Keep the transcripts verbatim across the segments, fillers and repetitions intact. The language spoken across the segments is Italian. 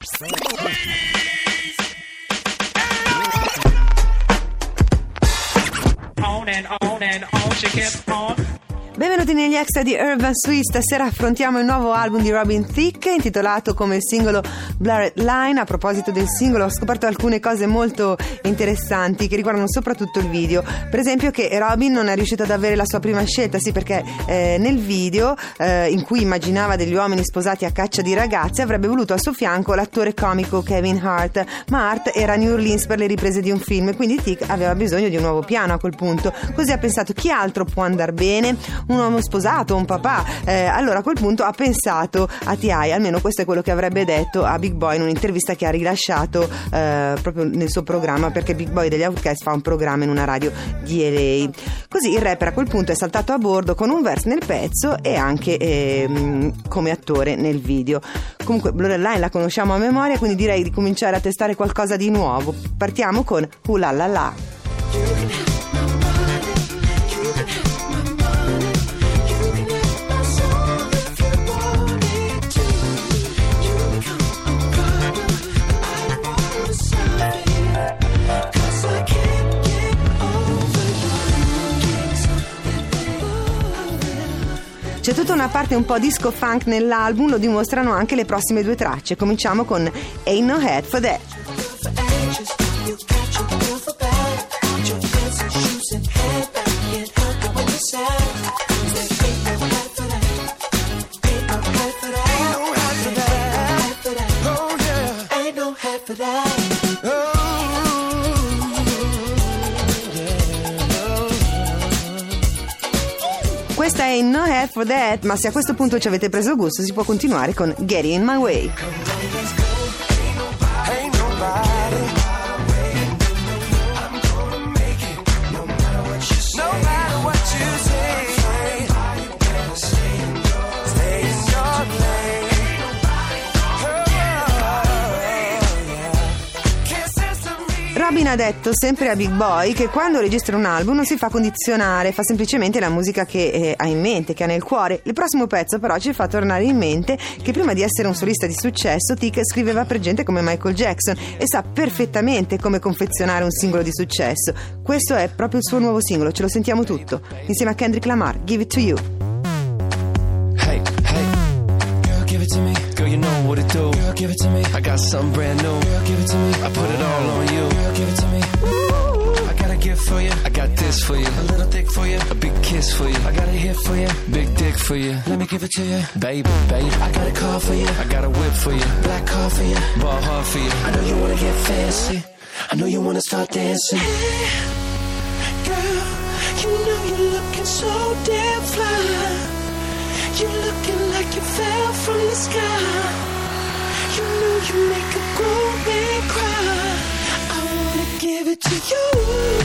On and on and on, she kept on. Benvenuti negli extra di Urban Sweet. Stasera affrontiamo il nuovo album di Robin Thicke, intitolato come il singolo Blurred Line. A proposito del singolo, ho scoperto alcune cose molto interessanti che riguardano soprattutto il video. Per esempio che Robin non è riuscito ad avere la sua prima scelta, sì, perché eh, nel video eh, in cui immaginava degli uomini sposati a caccia di ragazze avrebbe voluto al suo fianco l'attore comico Kevin Hart, ma Hart era a New Orleans per le riprese di un film e quindi Thicke aveva bisogno di un nuovo piano a quel punto. Così ha pensato: chi altro può andar bene? Un uomo sposato, un papà. Eh, allora a quel punto ha pensato a T I, almeno questo è quello che avrebbe detto a Big Boy in un'intervista che ha rilasciato eh, proprio nel suo programma, perché Big Boy degli Outkast fa un programma in una radio di L A. Così il rapper a quel punto è saltato a bordo con un verse nel pezzo e anche eh, come attore nel video. Comunque Blurred Line la conosciamo a memoria, quindi direi di cominciare a testare qualcosa di nuovo. Partiamo con Ooh La La La. C'è tutta una parte un po' disco funk nell'album, lo dimostrano anche le prossime due tracce. Cominciamo con Ain't No Head For That. Questa è No Head For That, ma se a questo punto ci avete preso gusto si può continuare con Get In My Way. Robin ha detto sempre a Big Boy che quando registra un album non si fa condizionare, fa semplicemente la musica che eh, ha in mente, che ha nel cuore. Il prossimo pezzo però ci fa tornare in mente che prima di essere un solista di successo Thicke scriveva per gente come Michael Jackson e sa perfettamente come confezionare un singolo di successo. Questo è proprio il suo nuovo singolo, ce lo sentiamo tutto insieme a Kendrick Lamar, Give It To You. Hey, hey, girl, give it to me. Girl, you know what it do. Girl, give it to me. I got something brand new. Girl, give it to me. I put it all on you. Girl, give it to me. Ooh, I got a gift for you. I got this for you. A little thick for you. A big kiss for you. I got a hit for you. Big dick for you. Let me give it to you. Baby, baby. I got a car for you. I got a whip for you. Black car for you. Ball hard for you. I know you wanna get fancy. I know you wanna start dancing. Hey, girl, you know you're looking so damn fly. You're looking like you fell from the sky. You know you make a grown man cry. I wanna give it to you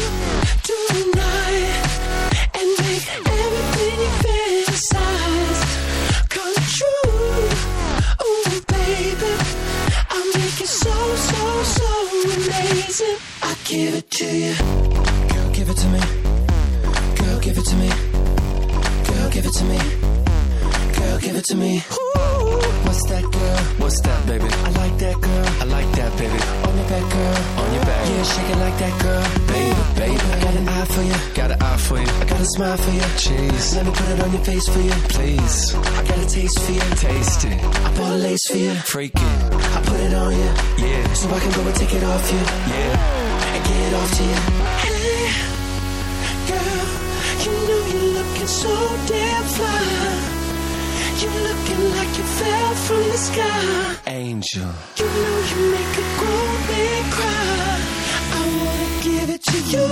tonight and make everything you fantasize come true. Oh baby, I'll make it so, so, so amazing. I give it to you. Girl, give it to me. Girl, give it to me. Girl, give it to me. Girl, give it to me. Ooh, what's that, girl? What's that, baby? I like that, girl. I like that, baby. On your back, girl. On your back. Yeah, shake it like that, girl. Baby, baby. I got an eye for you. Got an eye for you. I got a smile for you. Cheese. Let me put it on your face for you. Please. I got a taste for you. Taste it. I bought a lace for you. Freak it. I put it on you. Yeah. So I can go and take it off you. Yeah. And get it off to you. Hey, girl. You know you're looking so damn fly. You're looking like you fell from the sky. Angel. You know you make a grown man cry. I wanna give it to you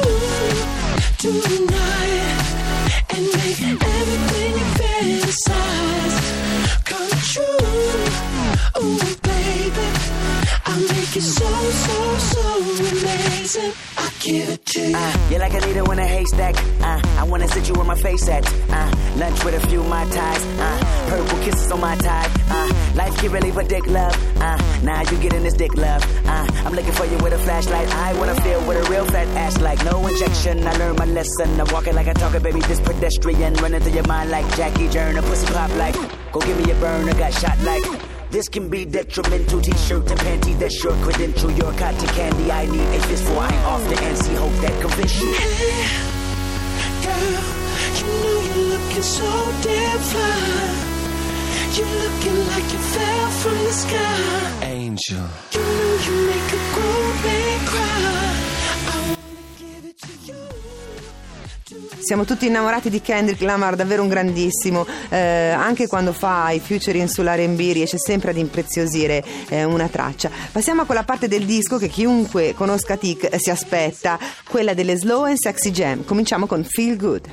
tonight and make everything you fantasize come true. Oh baby, I'll make it so, so, so amazing. I'll give it to you. Uh, you're like a needle in a haystack. Uh, I wanna sit you where my face at. Uh, lunch with a few Mai Tais. Uh, purple kisses on my tie. Uh, life get really for dick love. Uh, now you getting this dick love. Uh, I'm looking for you with a flashlight. I wanna feel with a real fat ass like no injection. I learned my lesson. I'm walking like I talk it, baby. This pedestrian running through your mind like Jackie Turner. Pussy pop like, go give me a burn. I got shot like. This can be detrimental. T-shirt and panty that's your credential. Your cotton candy, I need a fistful. I ain't off the N C, hope that convince you. Hey, girl, you know you're looking so damn fly. You're looking like you fell from the sky. Angel. You know you make a grown man cry. I wanna give it to you. Siamo tutti innamorati di Kendrick Lamar, davvero un grandissimo, eh, anche quando fa i featuring sull'R and B riesce sempre ad impreziosire eh, una traccia. Passiamo a quella parte del disco che chiunque conosca Tic si aspetta, quella delle slow and sexy jam. Cominciamo con Feel Good.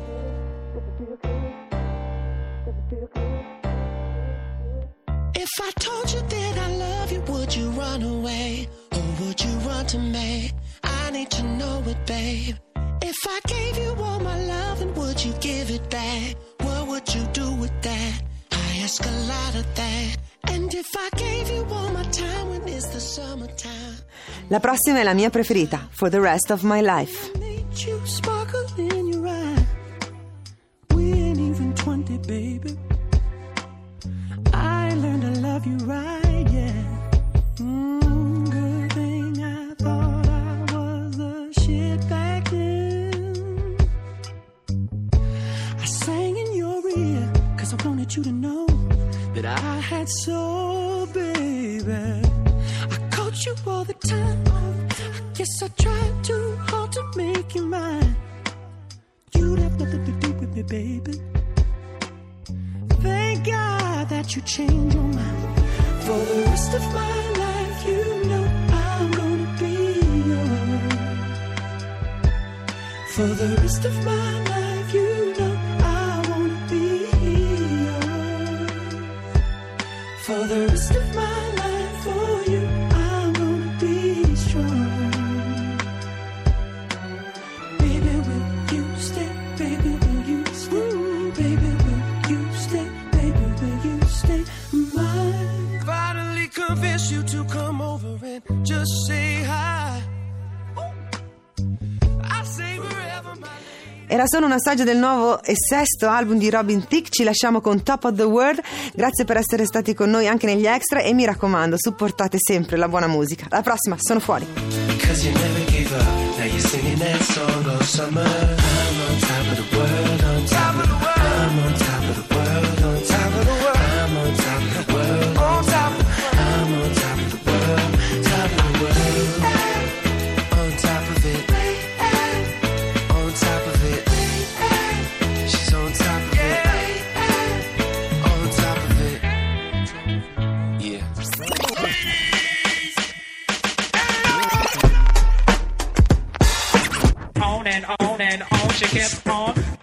If I told you that I love you, would you run away? Or would you run to me? I need to know it, babe. If I gave you all my love, and would you give it back? What would you do with that? I ask a lot of that. And if I gave you all my time, when it's the summertime? La prossima è la mia preferita, For the Rest of My Life. Made you sparkle in your eye. We ain't even twenty, baby. I learned to love you right, yeah. Mm, good thing I thought I was the shit back then. I sang in your ear, cause I wanted you to know that I had soul, baby. I called you all the time. I guess I tried too hard to make you mine. You'd have nothing to do with me, baby. Thank God that you changed your mind. For the rest of my life, you know I'm gonna be yours. For the rest of my life, you know I wanna be yours. For the rest of my life, for you, I'm gonna be strong. Baby, will you stay? Baby, will you stay? Baby, will you stay? Baby, will you stay mine? Finally convince you to come over and just say hi. I say wherever my Era solo un assaggio del nuovo e sesto album di Robin Thicke. Ci lasciamo con Top of the World. Grazie per essere stati con noi anche negli extra e mi raccomando, supportate sempre la buona musica. Alla prossima, sono fuori. Cause you never gave up. Now you're singing that song all summer. I'm on top of the world, on top of the world. I'm on top of the world, on top of the world. I'm on top of the world, on top of the world. I'm on top of the world, top of the world. On top of it, on top of it. She's on top of it, on top of it. Yeah. On and on and on she kept on.